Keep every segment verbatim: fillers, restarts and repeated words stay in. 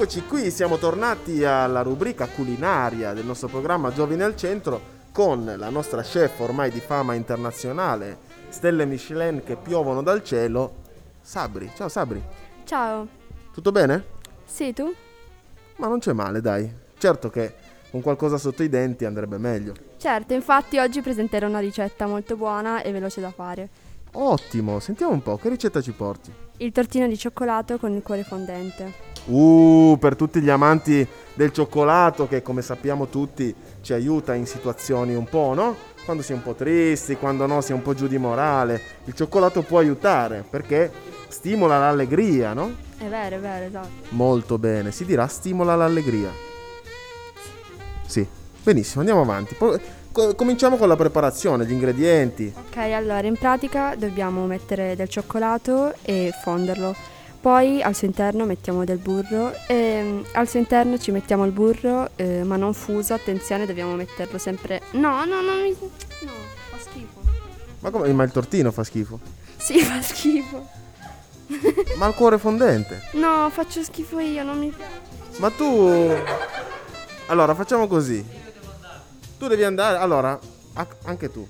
Eccoci qui, siamo tornati alla rubrica culinaria del nostro programma Giovani al Centro con la nostra chef ormai di fama internazionale, stelle Michelin che piovono dal cielo, Sabri. Ciao Sabri. Ciao. Tutto bene? Sì, tu? Ma non c'è male, dai. Certo che con qualcosa sotto i denti andrebbe meglio. Certo, infatti oggi presenterò una ricetta molto buona e veloce da fare. Ottimo, sentiamo un po', che ricetta ci porti? Il tortino di cioccolato con il cuore fondente. Uh, per tutti gli amanti del cioccolato che come sappiamo tutti ci aiuta in situazioni un po', no? Quando si è un po' tristi, quando no, si è un po' giù di morale. Il cioccolato può aiutare perché stimola l'allegria, no? È vero, è vero, esatto. Molto bene, si dirà stimola l'allegria. Sì, benissimo, andiamo avanti. Po- co- cominciamo con la preparazione, gli ingredienti. Ok, allora in pratica dobbiamo mettere del cioccolato e fonderlo. Poi al suo interno mettiamo del burro e mm, al suo interno ci mettiamo il burro, eh, ma non fuso, attenzione, dobbiamo metterlo sempre... No, no, no, mi... no, fa schifo. Ma come? Ma il tortino fa schifo. Sì, fa schifo. Ma il cuore fondente. No, faccio schifo io, non mi piace. Ma tu... Allora, facciamo così. Tu devi andare... Allora, a- anche tu.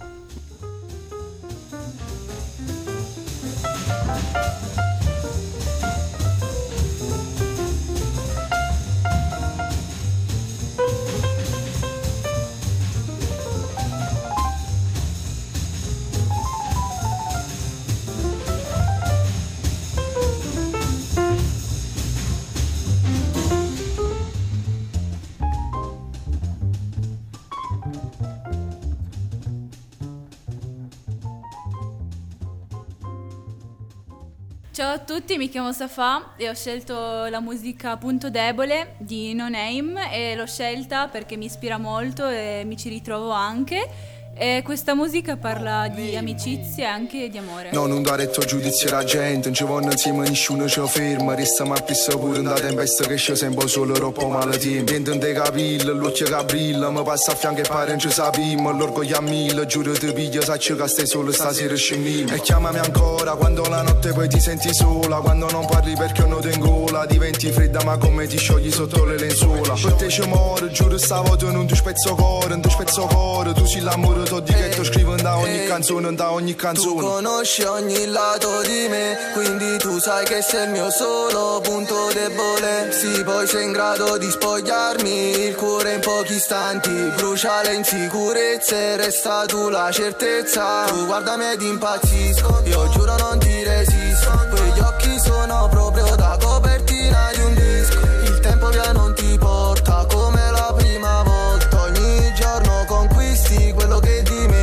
Ciao a tutti, mi chiamo Safà e ho scelto la musica Punto Debole di No Name e l'ho scelta perché mi ispira molto e mi ci ritrovo anche. E questa musica parla di amicizia e anche di amore. No, non dare il tuo giudizio alla gente, non ci vanno insieme nessuno ci ferma. Resta ma pissa pure in da tempesta che c'è sempre solo troppo male tempo. Niente di capire, l'occhio che brilla, mi passa a fianco e pare non ci sappiamo. L'orgoglio a mille, giuro ti piglio, saccio che stai solo stasera scemmiamo. E chiamami ancora quando la notte poi ti senti sola, quando non parli perché non ti ingola. Diventi fredda ma come ti sciogli sotto le lenzuola. Per te ci muore, giuro stavolta non ti spezzo cuore, non ti spezzo cuore. Tu sei l'amore di che tu scrivo da ogni canzone, da ogni canzone. Tu conosci ogni lato di me, quindi tu sai che sei il mio solo punto debole. Sì, poi sei in grado di spogliarmi il cuore in pochi istanti. Brucia le insicurezze, resta tu la certezza. Tu guardami ed impazzisco, io giuro non ti resisto. Quegli occhi sono proprio da copertina di un disco. Il tempo via non ti porta come la prima volta. Ogni giorno conquisti quello che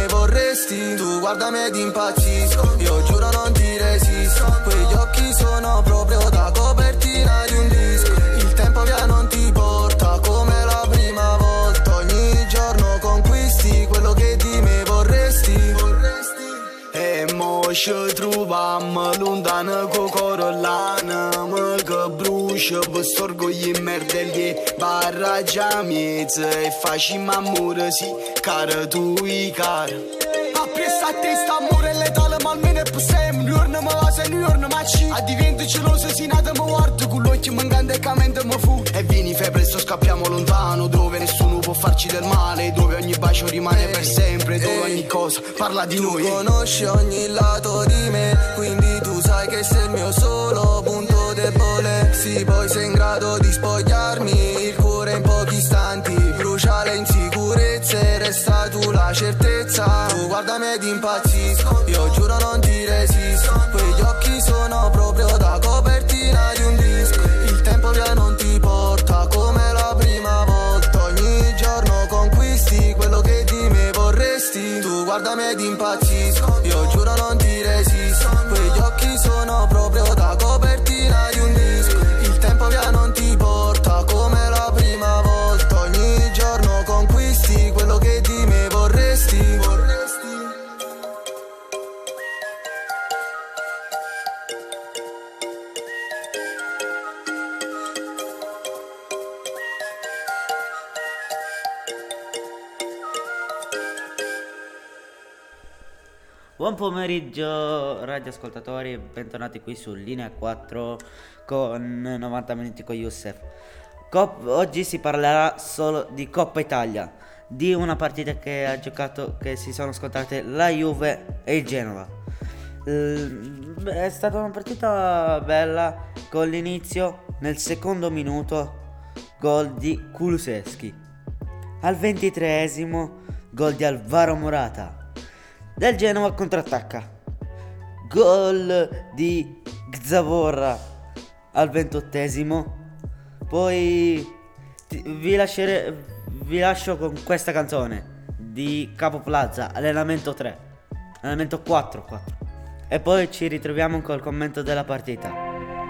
tu guardami ed impazzisco, io giuro non ti resisto. Quegli occhi sono proprio da copertina di un disco. Il tempo via non ti porta come la prima volta. Ogni giorno conquisti quello che di me vorresti. E mo ci troviamo lontano con Corolana, ma che brucia per storgogli in merda che barraggia miezza e facciamo amore sì, cara tu i cara. Appressa a testa, amore letale, ma almeno è possibile. Un giorno mi va, se un giorno mi ci. A divento geloso, si nata mi guardo con l'occhio mancante e mente mi fu. E vieni fai presto, scappiamo lontano, dove nessuno può farci del male, dove ogni bacio rimane per sempre, dove ogni cosa parla di noi. Tu conosci ogni lato di me, quindi tu sai che sei il mio solo punto debole. Sì, poi sei in grado di spogliarmi il cuore in pochi istanti. Brucia le insicurezze, resta tu la certezza. Tu guardami ed impazzisco, io giuro non ti resisto. Quegli occhi sono proprio da copertina di un disco. Il tempo via non ti porta come la prima volta. Ogni giorno conquisti quello che di me vorresti. Tu guardami ed impazzisco, io giuro non ti resisto. Quegli occhi sono proprio da copertina di un disco. Il tempo via non ti porta come la prima volta. Ogni giorno conquisti quello che di me vorresti. Buon pomeriggio radioascoltatori, bentornati qui su Linea quattro con novanta minuti con Youssef. Cop- oggi si parlerà solo di Coppa Italia, di una partita che ha giocato, che si sono scontrate la Juve e il Genova. L- è stata una partita bella, con l'inizio nel secondo minuto gol di Kulusevski, al ventitreesimo gol di Alvaro Morata. Del Genova contrattacca, gol di Gzavorra al ventottesimo. Poi ti, vi, lasciere, vi lascio con questa canzone di Capo Plaza, allenamento tre, allenamento quattro, quattro. E poi ci ritroviamo col commento della partita.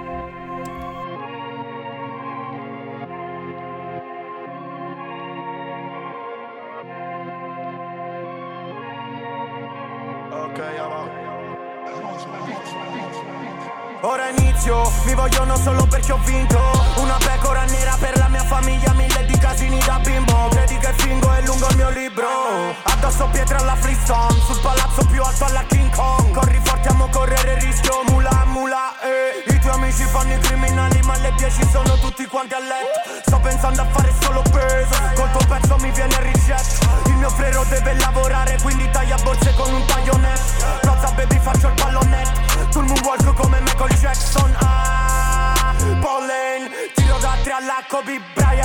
Ora inizio, mi vogliono solo perché ho vinto. Una pecora nera per la mia famiglia, mille di casini da bimbo. Credi che fingo è lungo il mio libro. Addosso pietre alla Flintstone, sul palazzo più alto alla King Kong. Corri forte, amo correre il rischio, mula mula eh. I tuoi amici fanno i criminali, ma alle dieci sono tutti quanti a letto. Sto pensando a fare solo peso, col tuo pezzo mi viene il ricetto. Il mio frero deve lavorare, quindi taglia borse con un taglionetto. Rozza baby, faccio il pallonetto. Sul moonwalk come Michael Jackson. Ah, Pollen, tiro da tre alla Kobe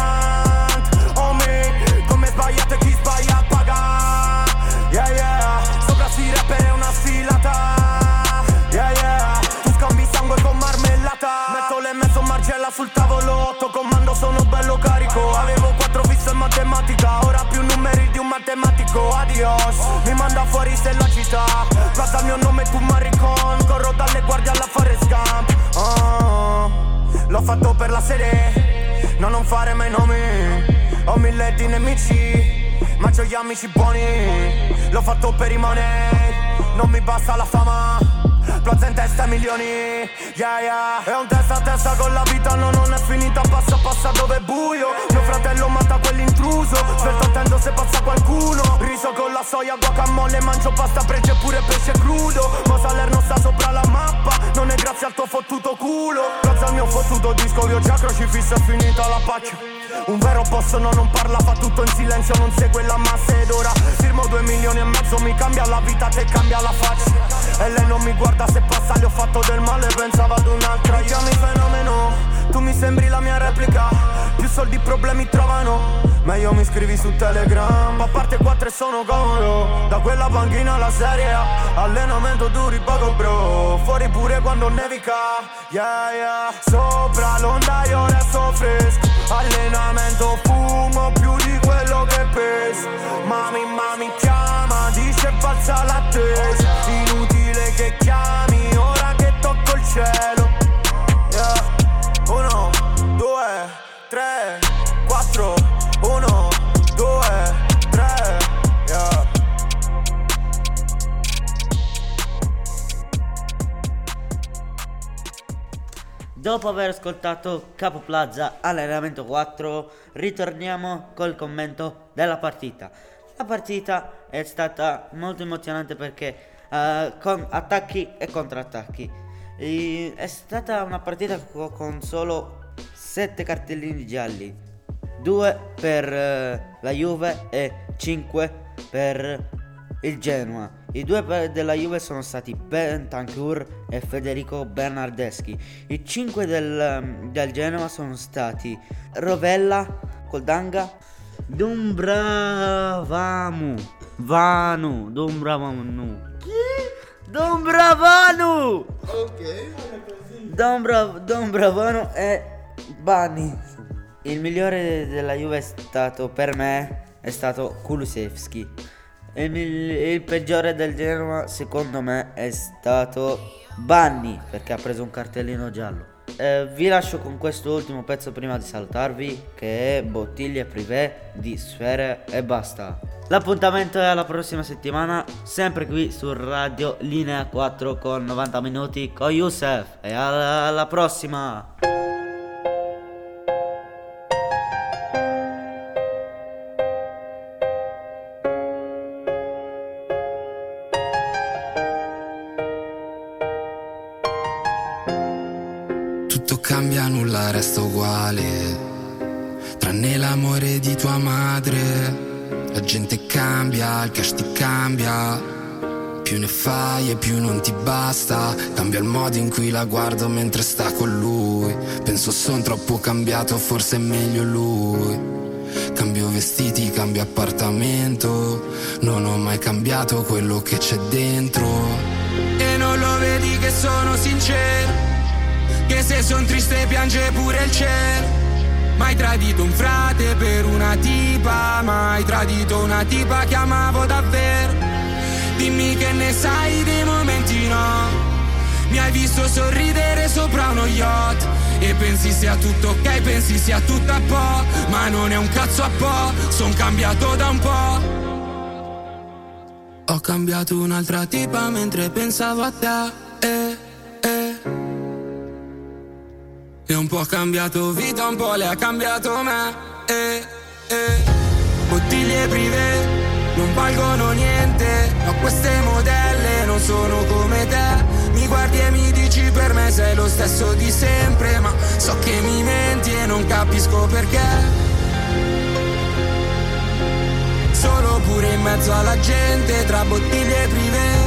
Bryant. Oh me, come sbagliate chi sbaglia paga. Yeah yeah, sopra sti rapper è una sfilata. Yeah yeah, tu scambi sangue con marmellata. Metto le mezzo margella sul tavolo, otto comando sono bello carico. Avevo quattro fisso in matematica, ora più numeri di un matematico. Adios, mi manda fuori se la città. Plaza il mio nome tu maricon, corro dalle guardie alla Forrest Gump. Oh, l'ho fatto per la serie, no non fare mai nomi. Ho mille di nemici, ma c'ho gli amici buoni. L'ho fatto per i money, non mi basta la fama. Plaza in testa milioni, yeah yeah. È un testa a testa con la vita, no non è finita, passa passa dove è buio. Mio fratello mata quell'intruso, svelto attendo se passa qualcuno. Riso con la soia, guacamole, mangio pasta, prege pure pesce crudo. Ma Salerno sta sopra la mappa, non è grazie al tuo fottuto culo. Grazie al mio fottuto disco, io già crocifisso, è finita la pacchia. Un vero boss no non parla, fa tutto in silenzio, non segue la massa ed ora firmo due milioni e mezzo, mi cambia la vita, te cambia la faccia. E lei non mi guarda se passa, le ho fatto del male, pensava ad un'altra. Mi chiami fenomeno, tu mi sembri la mia replica. Più soldi problemi trovano, meglio mi scrivi su Telegram. A parte quattro e sono comodo, da quella panchina alla Serie A. Allenamento duri poco bro, fuori pure quando nevica. Yeah yeah, sopra l'onda io resto fresco. Allenamento fumo più di quello che peso. Mami mami chiama, dice balza l'attesa. Inutile che chiami ora che tocco il cielo. Yeah. Uno, due, tre, quattro. Uno, due, tre. Yeah. Dopo aver ascoltato Capo Plaza allenamento quattro, ritorniamo col commento della partita. La partita è stata molto emozionante perché uh, con attacchi e contrattacchi. E è stata una partita co- con solo sette cartellini gialli, due per uh, la Juve e cinque per il Genoa. I due per della Juve sono stati Bentancur e Federico Bernardeschi. I cinque del, del Genoa sono stati Rovella, Koldanga, Dumbravamu, Vanu, Dumbravanu. Chi? Dumbravanu! Ok. Dombra, Dombravanu e Bani. Il migliore della Juve è stato, per me, è stato Kulusevski. Il, il peggiore del Genoa secondo me è stato Banni, perché ha preso un cartellino giallo. Eh, vi lascio con questo ultimo pezzo prima di salutarvi, che è Bottiglie Privé di Sfere e Basta. L'appuntamento è alla prossima settimana, sempre qui su Radio Linea quattro con novanta minuti con Youssef. E alla, alla prossima! Tutto cambia, nulla resta uguale, tranne l'amore di tua madre. La gente cambia, il cash ti cambia, più ne fai e più non ti basta. Cambia il modo in cui la guardo mentre sta con lui. Penso son troppo cambiato, forse è meglio lui. Cambio vestiti, cambio appartamento, non ho mai cambiato quello che c'è dentro. E non lo vedi che sono sincero, che se son triste piange pure il cielo. Mai tradito un frate per una tipa, mai tradito una tipa che amavo davvero. Dimmi che ne sai dei momenti no, mi hai visto sorridere sopra uno yacht e pensi sia tutto ok, pensi sia tutto a po', ma non è un cazzo a po', son cambiato da un po'. Ho cambiato un'altra tipa mentre pensavo a te, eh, eh. E un po' ha cambiato vita, un po' le ha cambiato me, eh, eh. Bottiglie privé non valgono niente, ma queste modelle non sono come te. Mi guardi e mi dici per me sei lo stesso di sempre, ma so che mi menti e non capisco perché. Solo pure in mezzo alla gente, tra bottiglie privé,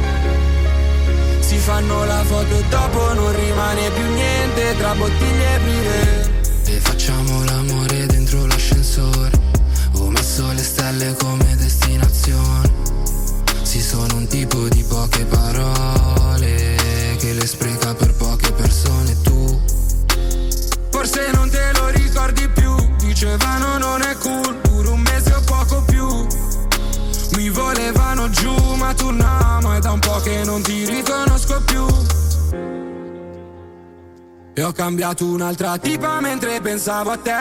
si fanno la foto e dopo non rimane più niente, tra bottiglie privé. E facciamo l'amore dentro l'ascensore, ho messo le stelle come destinazione. Sì, sono un tipo di poche parole, che le spreca per poche persone. Tu forse non te lo ricordi più, dicevano non è cool, pure un mese o poco più. Mi volevano giù ma tu no, ma è da un po' che non ti riconosco più. E ho cambiato un'altra tipa mentre pensavo a te,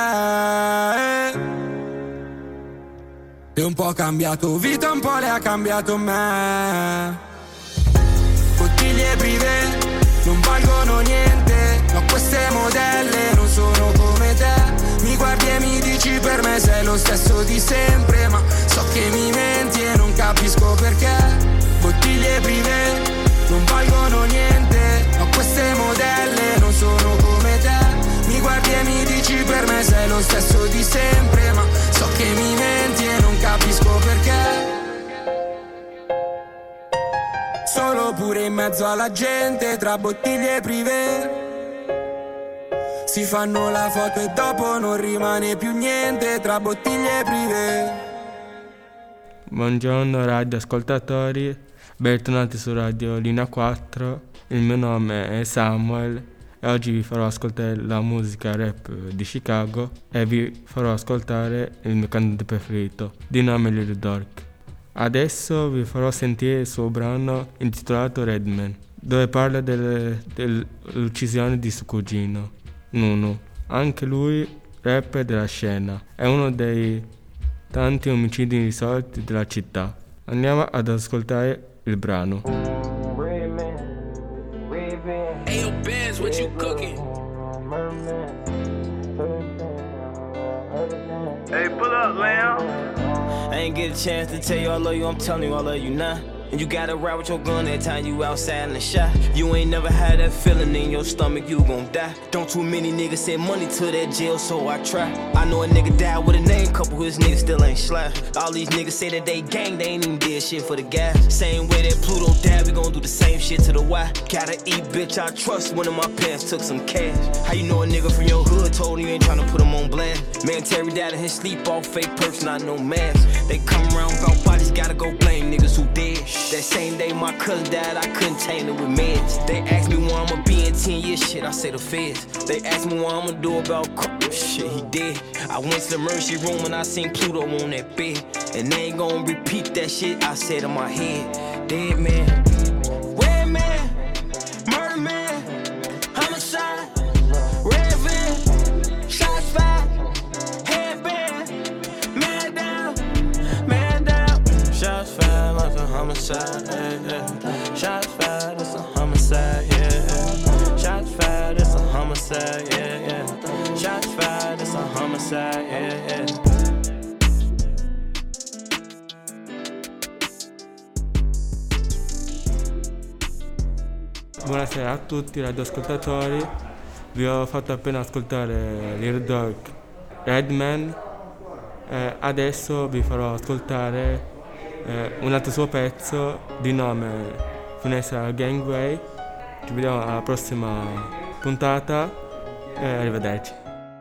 e un po' ha cambiato vita, un po' le ha cambiato me. Bottiglie privé non valgono niente, ma queste modelle non sono come te. Mi guardi e mi dici per me sei lo stesso di sempre, ma so che mi menti e non capisco perché. Bottiglie privé non valgono niente, ma queste modelle non sono come te. Mi guardi e mi dici per me sei lo stesso di sempre, ma so che mi menti e non capisco perché. Solo pure in mezzo alla gente, tra bottiglie privé, si fanno la foto e dopo non rimane più niente, tra bottiglie privé. Buongiorno radio ascoltatori, bentornati su Radio Linea quattro, il mio nome è Samuel e oggi vi farò ascoltare la musica rap di Chicago e vi farò ascoltare il mio cantante preferito, di nome Lil Durk. Adesso vi farò sentire il suo brano intitolato Redman, dove parla delle, dell'uccisione di suo cugino, Nunu. Anche lui rapper della scena, è uno dei tanti omicidi irrisolti della città. Andiamo ad ascoltare il brano. Ayo Benz, what you cooking? Hey, pull up, Lamb. I ain't get a chance to tell you I love you, I'm telling you I love you now. And you gotta ride with your gun that time you outside in the shot. You ain't never had that feeling in your stomach, you gon' die. Don't too many niggas send money to that jail, so I try. I know a nigga died with a name, couple of his niggas still ain't slap. All these niggas say that they gang, they ain't even did shit for the gas. Same way that Pluto died, we gon' do the same shit to the Y. Gotta eat, bitch, I trust one of my parents took some cash. How you know a nigga from your hood told you ain't tryna put him on blast? Man, Terry died in his sleep, all fake person, not no mask. They come around about bodies, gotta go blame niggas who dead. That same day my cousin died, I couldn't tame it with meds. They asked me why I'ma be in ten years, shit, I say the feds. They asked me what I'ma do about crap, shit, he did. I went to the emergency room and I seen Pluto on that bed. And they ain't gonna repeat that shit I said in my head. Dead man, red man, murder man, homicide, red van, shots fired, headband, man down, man down, shots fired, like a homicide, yeah, yeah. Shots fired, it's a homicide, yeah. Shots fired, it's a homicide, yeah, yeah. Shots fired, it's a homicide, yeah, yeah. Buonasera a tutti radioascoltatori, Vi ho fatto appena ascoltare Little Dog Redman. Eh, adesso vi farò ascoltare eh, un altro suo pezzo di nome Vanessa Gangway. Ci vediamo alla prossima puntata e arrivederci.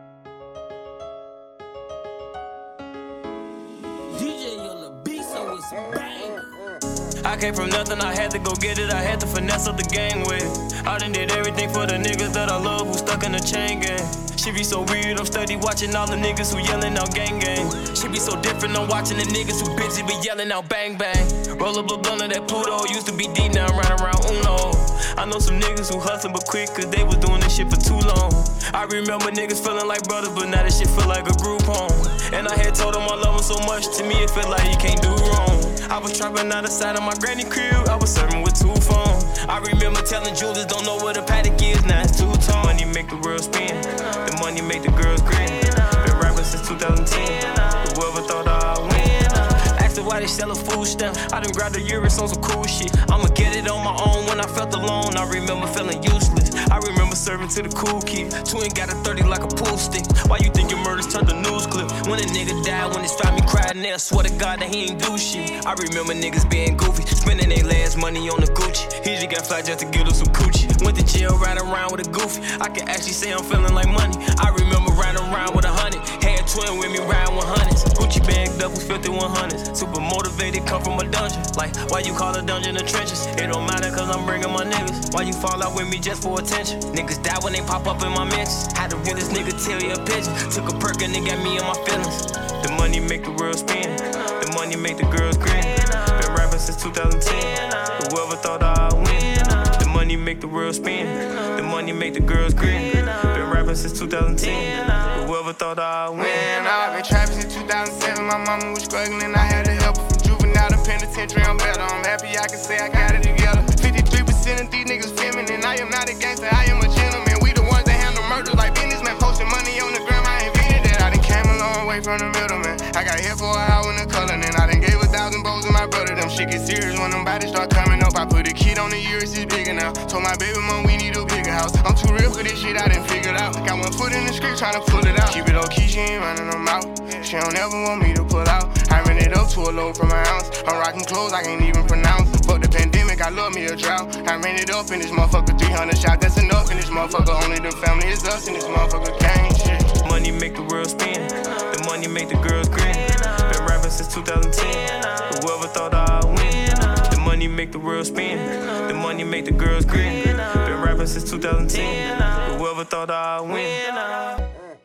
I came from nothing, I had to go get it, I had to finesse up the gang with it. I done did everything for the niggas that I love who stuck in the chain gang. She be so weird, I'm steady watching all the niggas who yelling out gang gang. She be so different, I'm watching the niggas who bitchy be yelling out bang bang. Roll up a blunt of that Pluto, used to be deep, now I'm riding around Uno. I know some niggas who hustling but quick cause they was doing this shit for too long. I remember niggas feeling like brothers, but now this shit feel like a group home. And I had told them I love them so much, to me it felt like you can't do wrong. I was trapping out the side of my granny crib, I was serving with two phones. I remember telling Julius, don't know what a paddock is, now it's two tone. Money make the world spin, the money make the girls grin. Been rapping since two thousand ten, whoever thought I'd win. Asked her why they sell a food stamp, I done grabbed the Urus on some cool shit. I'ma get it on my own when I felt alone, I remember feeling useless. I remember serving to the cool kid, twin got a thirty like a pool stick. Why you think your murders turned to news clip? When a nigga died, when his family cried, and they swear to God that he ain't do shit. I remember niggas being goofy, spending their last money on the Gucci. He just got fly just to get him some coochie. Went to jail riding around with a goofy, I can actually say I'm feeling like money. I remember riding around with a hundred, had twin with me riding with hundreds. Gucci bagged up with fifty one hundreds, super motivated, come from a dungeon. Like, why you call a dungeon the trenches? It don't matter cause I'm bringing my niggas. Why you fall out with me just for attention? Niggas die when they pop up in my mentions. Had to real this nigga tell you a pigeon. Took a perk and it got me in my feelings. The money make the world spin, the money make the girls grin. Been rapping since two thousand ten, whoever thought I'd win. The money make the world spin, the money make the girls grin. Been rapping since two thousand ten, whoever thought I'd win. Man, I've been trapping since two thousand seven, my mama was struggling, I had to help her. From juvenile to penitentiary, I'm better, I'm happy I can say I got it together. Fifty-three percent of these niggas feminine, I am not a gangster, I am a gentleman. We the ones that handle murders like businessmen, posting money on the gram, I invented that. I done came a long way from the middleman. I got hit for a hour in the color, and I done gave a thousand bows to my brother. Them shit get serious when them bodies start coming up. I put a kid on the Urus, it's bigger now. Told my baby mom we need a bigger house. I'm too real for this shit, I done figured out. Got one foot in the script, tryna pull it out. Keep it low key, she ain't running them out. She don't ever want me to pull out. I ran it up to a low from an ounce. I'm rocking clothes I can't even pronounce. Fuck the pandemic, I love me a drought. I ran it up in this motherfucker, three hundred shots. That's enough in this motherfucker. Only the family is us in this motherfucker gang shit. Money make the world spin, the money make the girls grin. Been rapping since two thousand ten, whoever thought I'd win. The money make the world spin, the money make the girls grin. Been rapping since two thousand ten, whoever thought I'd win.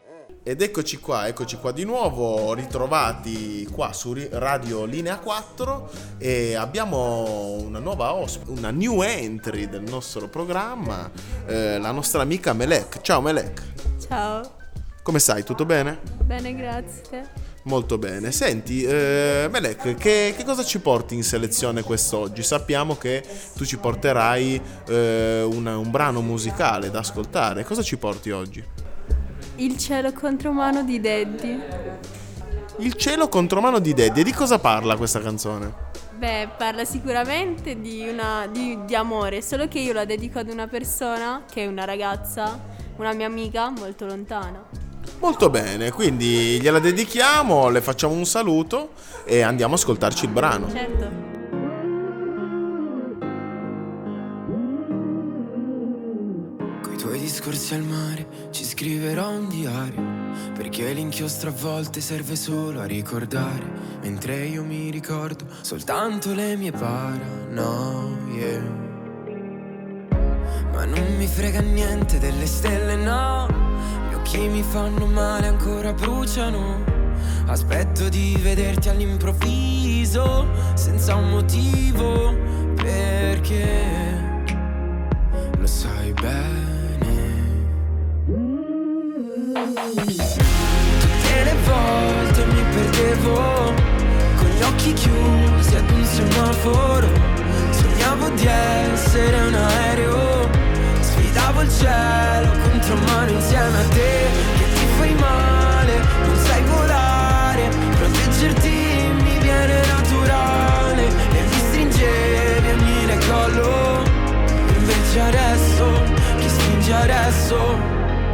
Ed eccoci qua, eccoci qua di nuovo, ritrovati qua su Radio Linea quattro e abbiamo una nuova ospite, una new entry del nostro programma, eh, la nostra amica Melek. Ciao Melek. Ciao. Come stai? Tutto bene? Bene, grazie. Molto bene. Senti, eh, Melek, che, che cosa ci porti in selezione quest'oggi? Sappiamo che tu ci porterai eh, una, un brano musicale da ascoltare. Cosa ci porti oggi? Il cielo contro mano di Daddy. Il cielo contro mano di Daddy. E di cosa parla questa canzone? Beh, parla sicuramente di, una, di, di amore, solo che io la dedico ad una persona che è una ragazza, una mia amica molto lontana. Molto bene, quindi gliela dedichiamo, le facciamo un saluto e andiamo a ascoltarci il brano. Certo. Discorsi al mare, ci scriverò un diario, perché l'inchiostro a volte serve solo a ricordare, mentre io mi ricordo soltanto le mie paranoie. Ma non mi frega niente delle stelle, no, gli occhi mi fanno male, ancora bruciano. Aspetto di vederti all'improvviso, senza un motivo, perché lo sai bene. Tutte le volte mi perdevo con gli occhi chiusi ad un semaforo. Sognavo di essere un aereo, sfidavo il cielo contro mano insieme a te. Che ti fai male, non sai volare, proteggerti mi viene naturale. E mi stringevi e mi collo. Invece adesso, chi stringe adesso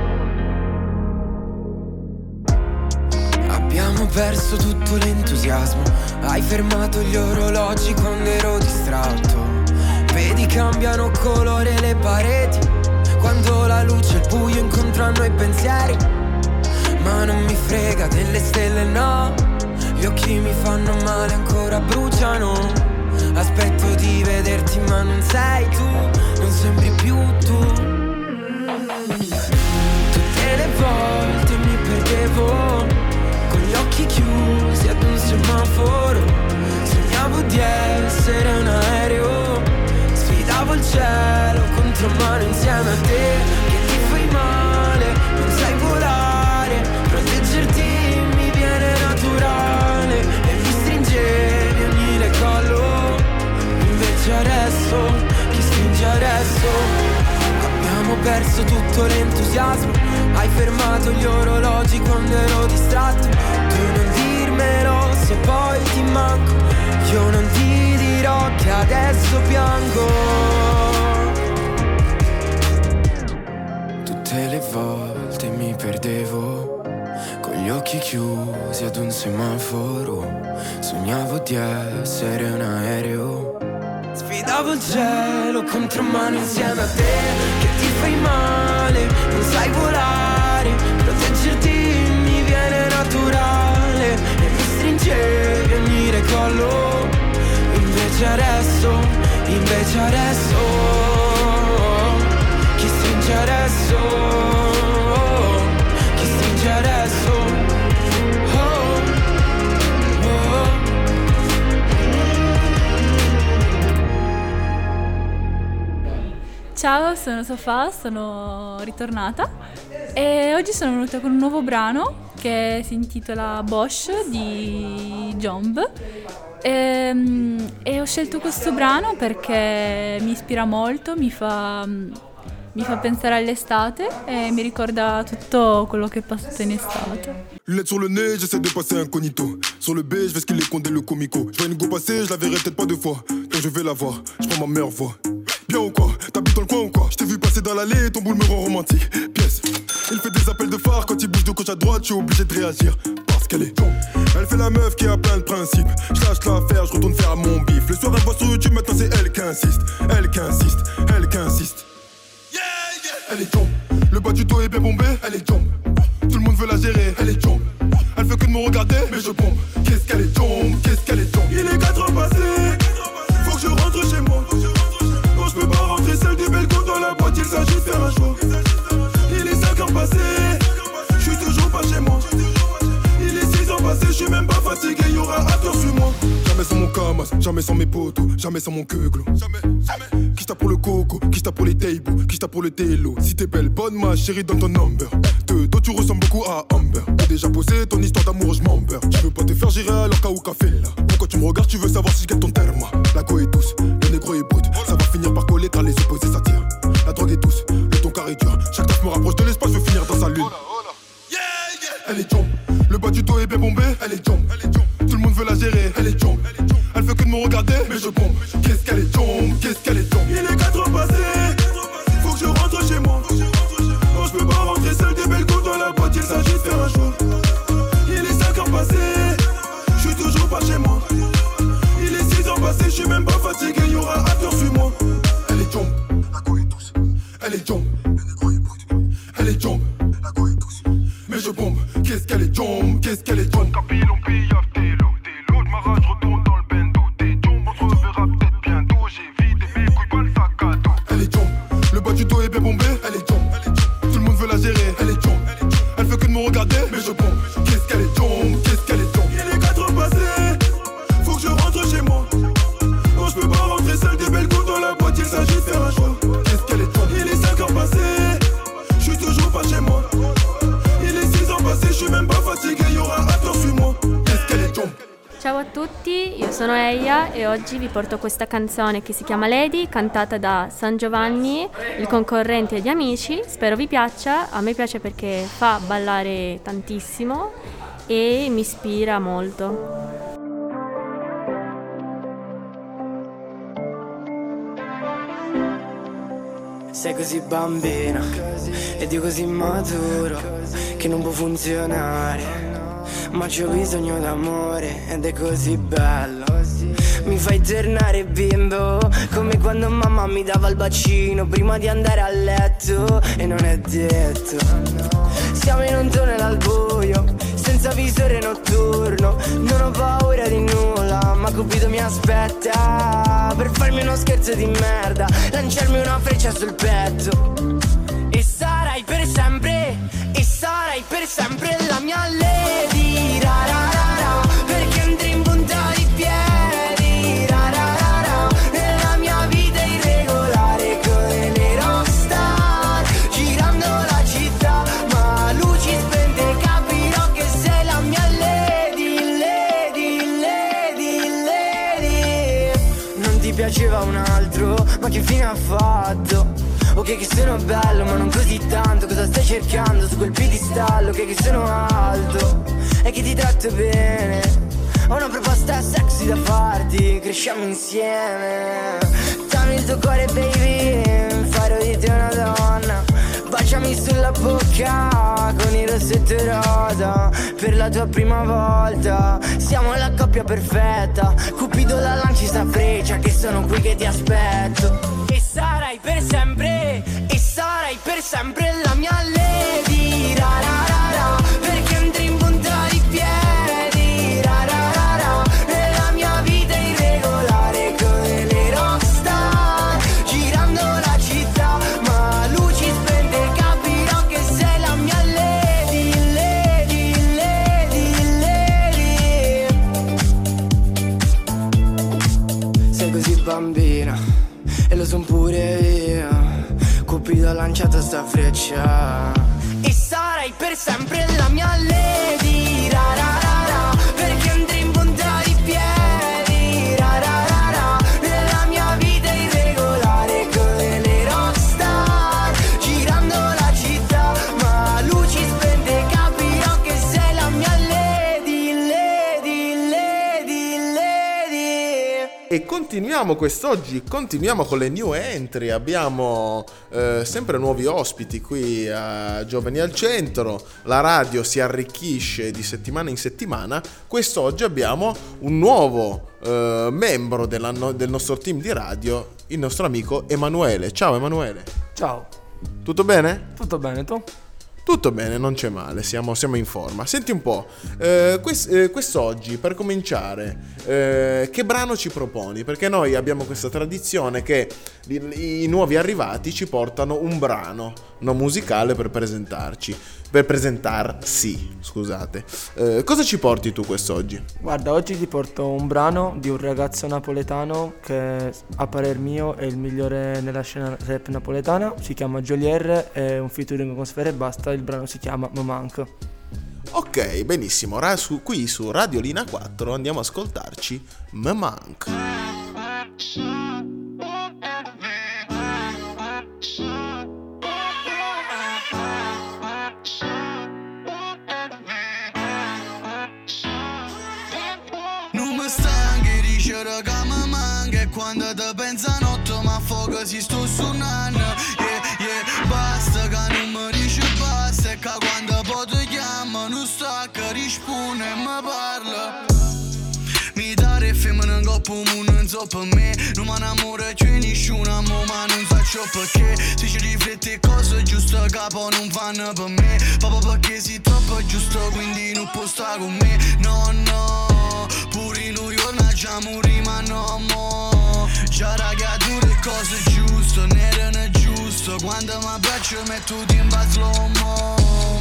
Abbiamo perso tutto l'entusiasmo, hai fermato gli orologi quando ero distratto. Vedi cambiano colore le pareti, quando la luce e il buio incontrano i pensieri. Ma non mi frega delle stelle, no, gli occhi mi fanno male, ancora bruciano. Aspetto di vederti ma non sei tu, non sembri più tu. Tutte le volte mi perdevo con gli occhi chiusi ad un semaforo. Sognavo di essere un aereo, sfidavo il cielo contro mano insieme a te. Che ti fai male, non sai volare, proteggerti mi viene naturale. E mi stringevi ogni le collo, invece adesso, chi stringe adesso? Abbiamo perso tutto l'entusiasmo, hai fermato gli orologi quando ero distratto. Tu non dirmelo se poi ti manco, io non ti dirò che adesso piango. Tutte le volte mi perdevo con gli occhi chiusi ad un semaforo. Sognavo di essere un aereo, sfidavo il cielo contro mano insieme a te. Che ti fai male, non sai volare, proteggerti mi viene naturale. E mi stringevi ogni le collo, invece adesso, invece adesso, chi stringe adesso, chi stringe adesso. Ciao, sono Sofà, sono ritornata e oggi sono venuta con un nuovo brano che si intitola Bosch di Jomb. E, e ho scelto questo brano perché mi ispira molto, mi fa, mi fa pensare all'estate e mi ricorda tutto quello che è passato in estate. Lunettes sur le nez, j'essaie de passer incognito. Sur le B, je vais ce qu'il est condé le comico. Je vois une go passer, je la verrai peut-être pas deux fois. Donc je vais la voir, je prends ma meilleure voix. Bien ou quoi? T'habites dans le coin ou quoi? Je t'ai vu passer dans l'allée, ton boule me rend romantique. Pièce, il fait des appels de phare. Quand il bouge de gauche à droite, je suis obligé de réagir. Parce qu'elle est tombe. Elle fait la meuf qui a plein de principes. Je lâche l'affaire, je retourne faire mon bif. Le soir elle voit sur YouTube, maintenant c'est elle qui insiste. Elle qui insiste, elle qui insiste. Yeah, yeah. Elle est tombe. Le bas du dos est bien bombé, elle est tombe. Tout le monde veut la gérer, elle est tombe. Elle fait que de me regarder, mais je bombe. Qu'est-ce qu'elle est tombe, qu'est-ce qu'elle est tombe. Il est quatre heures passées, faut que je rentre chez moi. Non, je peux pas rentrer seul des belles go dans la boîte, il s'agit de faire un choix. Il est cinq heures passées, je suis toujours pas chez moi. Il est six heures passées, je suis même pas fatigué, y'aura after sur moi. Jamais sans mon camas, jamais sans mes potos, jamais sans mon queuglo. Jamais, jamais. Qui t'a pour le coco, qui t'a pour les tables, qui t'a pour le télo. Si t'es belle, bonne ma chérie, donne ton number. De dos tu ressembles beaucoup à Amber. T'as déjà posé ton histoire d'amour, je m'en beurre. Je veux pas te faire gérer alors qu'à ou café là. Pourquoi tu me regardes, tu veux savoir si je gagne ton terme. La go est douce, le négro est brut. Ça va finir par coller car les opposés s'attirent. La drogue est douce, le ton carré dur. Chaque taf me rapproche de l'espace, je veux finir dans sa lune. Yeah, yeah. Elle est jump, le bas du dos est bien bombé. Elle est jump, tout le monde veut la gérer. Elle est jump, elle fait que de me regarder, mais je bombe. Qu'est-ce qu'elle est jump, qu'est-ce qu'elle est jump. Il est quatre heures passées, faut que je rentre chez moi. Non, je peux pas rentrer seul des belles go dans la boîte, il s'agit de faire un choix. Il est cinq heures passées, je suis toujours pas chez moi. Il est six heures passées, je suis même pas fatigué, y'aura after sur moi. Elle est jump, la go est douce. Elle est jump, le négro est brut. Elle est jump, la go est douce. Mais je bombe, qu'est-ce qu'elle est jump, qu'est-ce qu'elle est jump. Capille, on pille, t'es l'eau, t'es l'eau de ma rage, retourne dans le bendo. T'es jump, on se reverra peut-être bientôt. J'ai vidé mes couilles, pas le sac à dos. Elle est jump, le bas du dos est bien bombé. Elle est jump, tout le monde veut la gérer. Elle est jump, elle fait que de me regarder, mais je bombe. Qu'est-ce qu'elle est jump, qu'est-ce qu'elle est jump. Il est quatre heures passées, faut que je rentre chez moi. Non, je peux pas rentrer seul des belles go dans la boîte, il s'agit de faire un choix. Qu'est-ce qu'elle est jump. Il est cinq heures passées, je suis toujours pas chez moi. Il est six heures passées, je suis même pas fatigué, y'aura after sur moi. Qu'est-ce qu'elle est jump. Ciao a tutti, io sono Eia e oggi vi porto questa canzone che si chiama Lady, cantata da San Giovanni, il concorrente di Amici. Spero vi piaccia, a me piace perché fa ballare tantissimo e mi ispira molto. Sei così bambina ed io così maturo che non può funzionare. ma c'ho bisogno d'amore ed è così bello. Mi fai tornare bimbo, come quando mamma mi dava il bacino prima di andare a letto. E non è detto, siamo in un tunnel al buio, senza visore notturno. Non ho paura di nulla, ma Cupido mi aspetta per farmi uno scherzo di merda, lanciarmi una freccia sul petto. E sarai per sempre, e sarai per sempre la mia lady, ra ra ra ra, perché andrei in punta di piedi, ra ra ra ra, nella mia vita irregolare come le rockstar, girando la città, ma luci spente capirò che sei la mia lady, lady, lady, lady. Non ti piaceva un altro, ma che fine ha fatto? Ok che sono bello ma non così tanto, cosa stai cercando su quel piedistallo? Ok che sono alto e che ti tratto bene, ho una proposta sexy da farti, cresciamo insieme. Dammi il tuo cuore baby, farò di te una donna, baciami sulla bocca con il rossetto rosa, per la tua prima volta. Siamo la coppia perfetta, Cupido la lanci sta freccia, che sono qui che ti aspetto. E sarai per sempre, e sarai per sempre la mia lady, ra ra ra ra, perché andrei in punta di piedi, ra ra ra ra, nella mia vita irregolare come le rockstar, girando la città, ma luci spente capirò che sei la mia lady, lady, lady, lady. Sei così bambina e lo son pure io, Cupido ha lanciato sta freccia. E sarai per sempre la mia lady, ra ra ra ra, perché andrei in punta di piedi, ra ra ra ra, nella mia vita irregolare come le rockstar, girando la città, ma luci spente capirò che sei la mia lady, lady, lady, lady. E continuiamo quest'oggi, continuiamo con le new entry, abbiamo eh, sempre nuovi ospiti qui a Giovani al Centro, la radio si arricchisce di settimana in settimana. Quest'oggi abbiamo un nuovo eh, membro della, no, del nostro team di radio, il nostro amico Emanuele. Ciao Emanuele. Ciao. Tutto bene? Tutto bene, tu? Tutto bene, non c'è male, siamo, siamo in forma. Senti un po', eh, quest, eh, quest'oggi per cominciare, eh, che brano ci proponi? Perché noi abbiamo questa tradizione che i, i nuovi arrivati ci portano un brano no, musicale per presentarci, per presentarsi, scusate. Eh, cosa ci porti tu quest'oggi? Guarda, oggi ti porto un brano di un ragazzo napoletano che a parer mio è il migliore nella scena rap napoletana, si chiama Jolier, è un featuring con Sfera Ebbasta. Il brano si chiama Me Manque. Ok, benissimo. Ra- su, qui su Radio Lina quattro andiamo a ascoltarci Me Manque. Non mi stanchi di dicere che mi manca, e quando ti pensa notte ma fuoco si sto suonando. Yeah, yeah, basta che non mi dici basta, e che quando poi ti chiamo non sta che risponde e mi parla. Mi dare femmina in coppa, non so per me, non mi innamoro più nessuno, ma non faccio perché. Se ci rifletti cose giuste, capo non vanno per me, proprio perché sei troppo giusto, quindi non può stare con me. No, no, pure in New York già morì, ma no, mo già raga, tu le cose giuste, non erano giuste, quando mi piace metto in slow mo.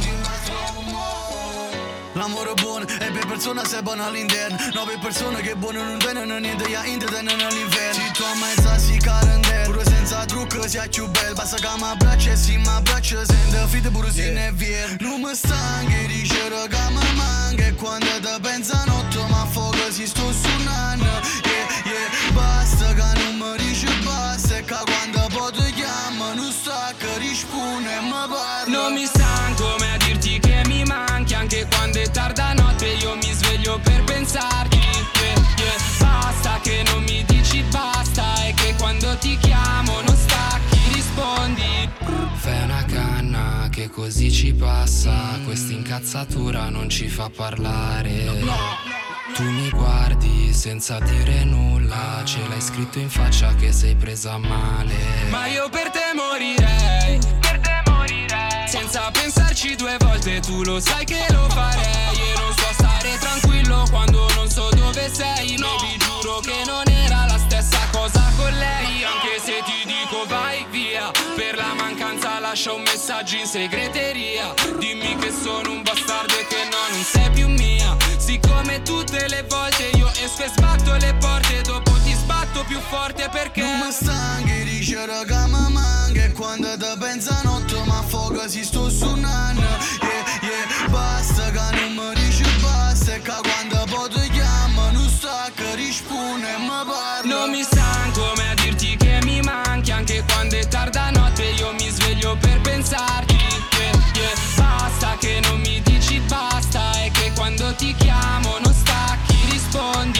L'amore buono e per persona sei buono all'interno, no per persone che buono non vengono niente, ya intrattengono all'inferno. Se tu ammazza si carantè, pure senza trucco sia più bello, basta che mi abbraccia e si mi abbraccia, sente fide pure se ne è vero. Non mi stanchi di dicere che mi manca, e quando ti pensa notte ma fuoco si sto suonando. Yeah, yeah, basta che non mi dici basta, e che quando poi ti chiamo non sta che risponde e mi parla. Non mi stanco mai a dirti che mi manchi, anche quando è tarda notte io mi sveglio per pensarti. Yeah, yeah. Basta che non mi dici basta, e che quando ti chiamo non stacchi, rispondi. Fai una canna che così ci passa, questi incantati incazzatura non ci fa parlare. Tu mi guardi senza dire nulla, ce l'hai scritto in faccia che sei presa male. Ma io per te morirei, per te morirei, senza pensarci due volte, tu lo sai che lo farei. E non so stare tranquillo quando non so dove sei. No, vi giuro che non era la stessa cosa con lei. Anche se ti dico vai via, per la mancanza lascia un messaggio in segreteria. Dimmi che sono un bastardo e che no, non sei più mia. Siccome tutte le volte io esco e sbatto le porte, dopo ti sbatto più forte perché non mi stanchi di dire che mi manca. E quando ti pensa notte ma foga si sto suonando. Yeah, yeah, basta che non mi dici basta. E che quando poi ti chiamo non stacca, risponde e mi parla. Non mi stanco mai a dirti che mi manchi, anche quando è tarda notte io mi sveglio per pensarti. Yeah, yeah, basta che non mi dici basta. E che quando ti chiamo non stacchi, rispondi.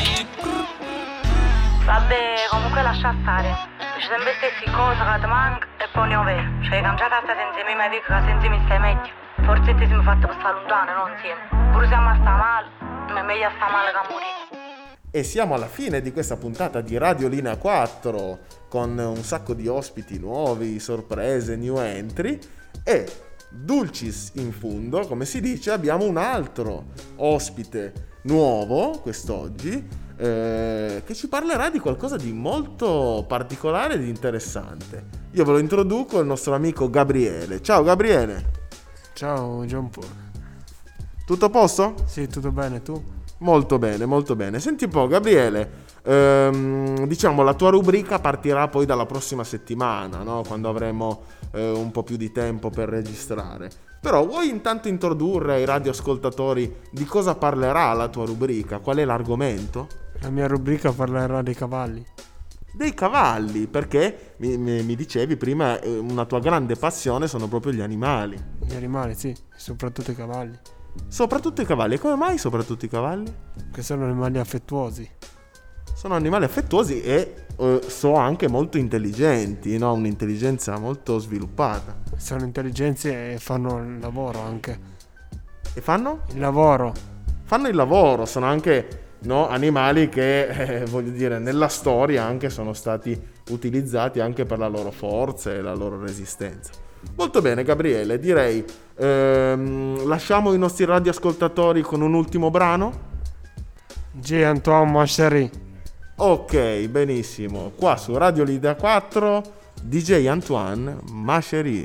Vabbè, comunque lascia stare. Dici sempre stessi cose che ti manca e poi ne ho vero. Cioè, cambiata a stare insieme ai miei amici, che senza mi stai meglio. Forse ti siamo fatti per stare lontano, non insieme. Pure siamo a sta male, ma è meglio a sta male che a morire. E siamo alla fine di questa puntata di Radio Linea quattro, con un sacco di ospiti nuovi, sorprese, new entry, e dulcis in fundo, come si dice, abbiamo un altro ospite nuovo quest'oggi, eh, che ci parlerà di qualcosa di molto particolare ed interessante. Io ve lo introduco, il nostro amico Gabriele. Ciao Gabriele. Ciao John Paul. Tutto a posto? Sì, tutto bene, tu? Molto bene, molto bene. Senti un po' Gabriele, ehm, diciamo la tua rubrica partirà poi dalla prossima settimana, no? Quando avremo eh, un po' più di tempo per registrare. Però vuoi intanto introdurre ai radioascoltatori di cosa parlerà la tua rubrica? Qual è l'argomento? La mia rubrica parlerà dei cavalli. Dei cavalli, perché mi, mi, mi dicevi prima eh, una tua grande passione sono proprio gli animali. Gli animali, sì, soprattutto i cavalli. Soprattutto i cavalli, e come mai soprattutto i cavalli? Che sono animali affettuosi. Sono animali affettuosi e eh, so anche molto intelligenti, no? Un'intelligenza molto sviluppata. Sono intelligenti e fanno il lavoro anche. E fanno? Il lavoro. Fanno il lavoro, sono anche, no, animali che, eh, voglio dire, nella storia anche sono stati utilizzati anche per la loro forza e la loro resistenza. Molto bene Gabriele, direi ehm, lasciamo i nostri radioascoltatori con un ultimo brano. G. Antoine Ma Chérie. Ok, benissimo. Qua su Radio Linea quattro D J Antoine Ma Chérie.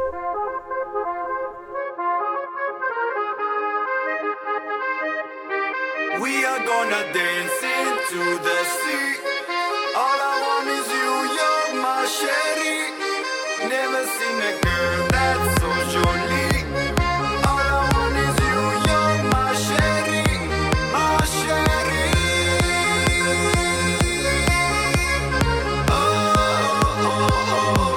We are gonna dance into the sea. All I want is you, you're my Chérie. Never seen a girl that's so jolly. All I want is you, you're my Chérie, my Chérie. Oh, oh, oh,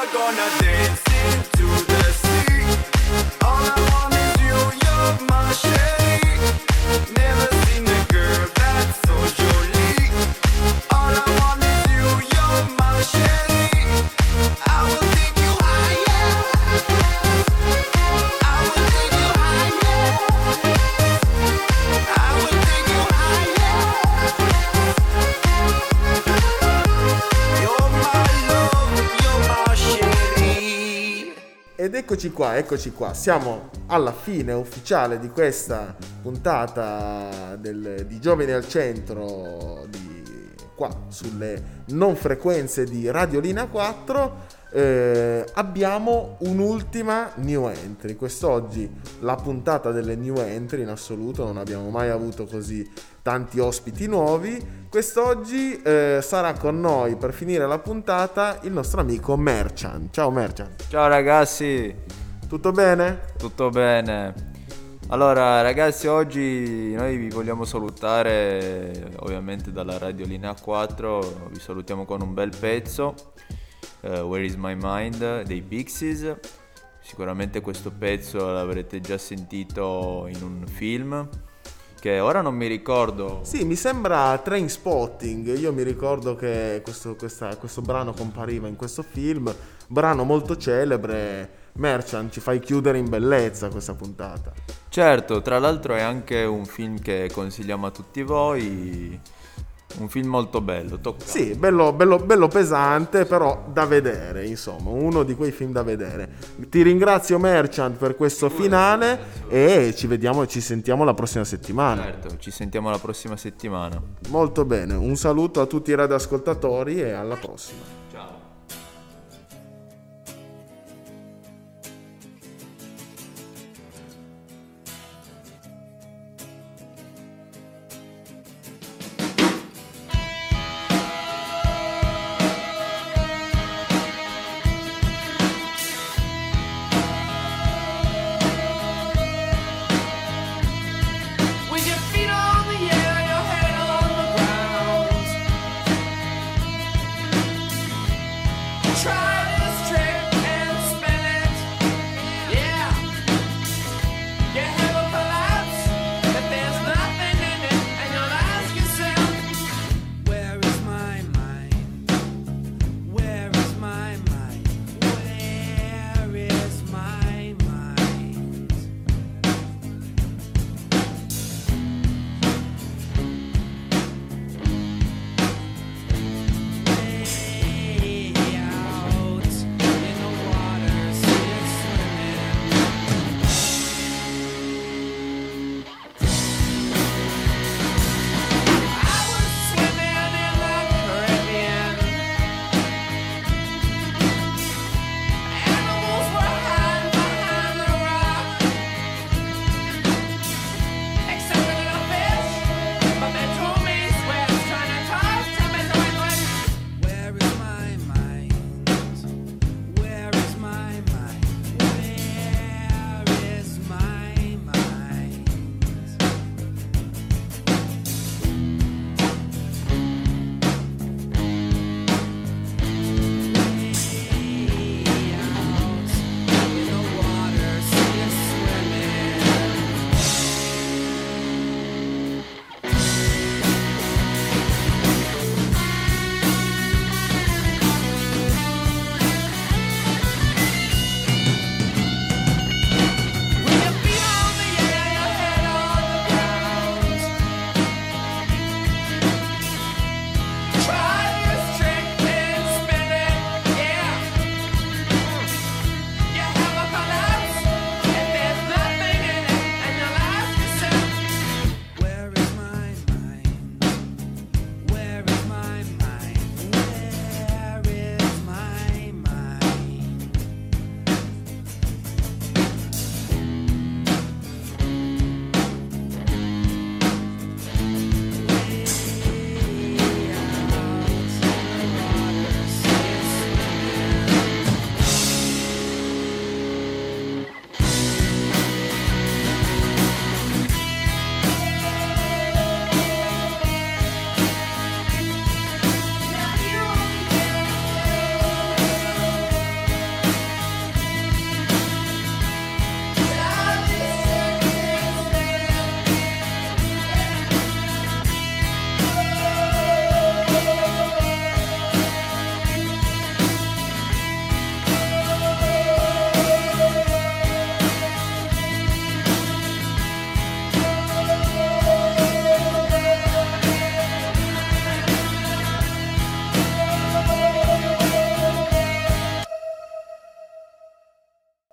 are gonna dance into the sea. All I want is you, you're my shade. Never seen a girl that's so jolie. All I want is you, you're my shade. I will take you higher. I will take you higher. I will take you higher. You're my love, you're my shady. Ed eccoci qua, eccoci qua, siamo alla fine ufficiale di questa puntata del, di Giovani al Centro di, qua sulle non frequenze di Radio Linea quattro. Eh, abbiamo un'ultima new entry. Quest'oggi la puntata delle new entry in assoluto, non abbiamo mai avuto così tanti ospiti nuovi. Quest'oggi eh, sarà con noi per finire la puntata il nostro amico Merchant. Ciao Merchant. Ciao ragazzi. Tutto bene? Tutto bene. Allora ragazzi, oggi noi vi vogliamo salutare ovviamente dalla Radio Linea quattro. Vi salutiamo con un bel pezzo, uh, Where is my mind dei Pixies. Sicuramente questo pezzo l'avrete già sentito in un film che ora non mi ricordo. Sì, mi sembra Trainspotting. Io mi ricordo che questo, questa, questo brano compariva in questo film, brano molto celebre. Merchant, ci fai chiudere in bellezza questa puntata. Certo, tra l'altro è anche un film che consigliamo a tutti voi, un film molto bello, toccante. Sì, bello, bello, bello pesante, però da vedere, insomma, uno di quei film da vedere. Ti ringrazio Merchant per questo finale e ci vediamo e ci sentiamo la prossima settimana. Certo, ci sentiamo la prossima settimana. Molto bene, un saluto a tutti i radioascoltatori e alla prossima. Ciao.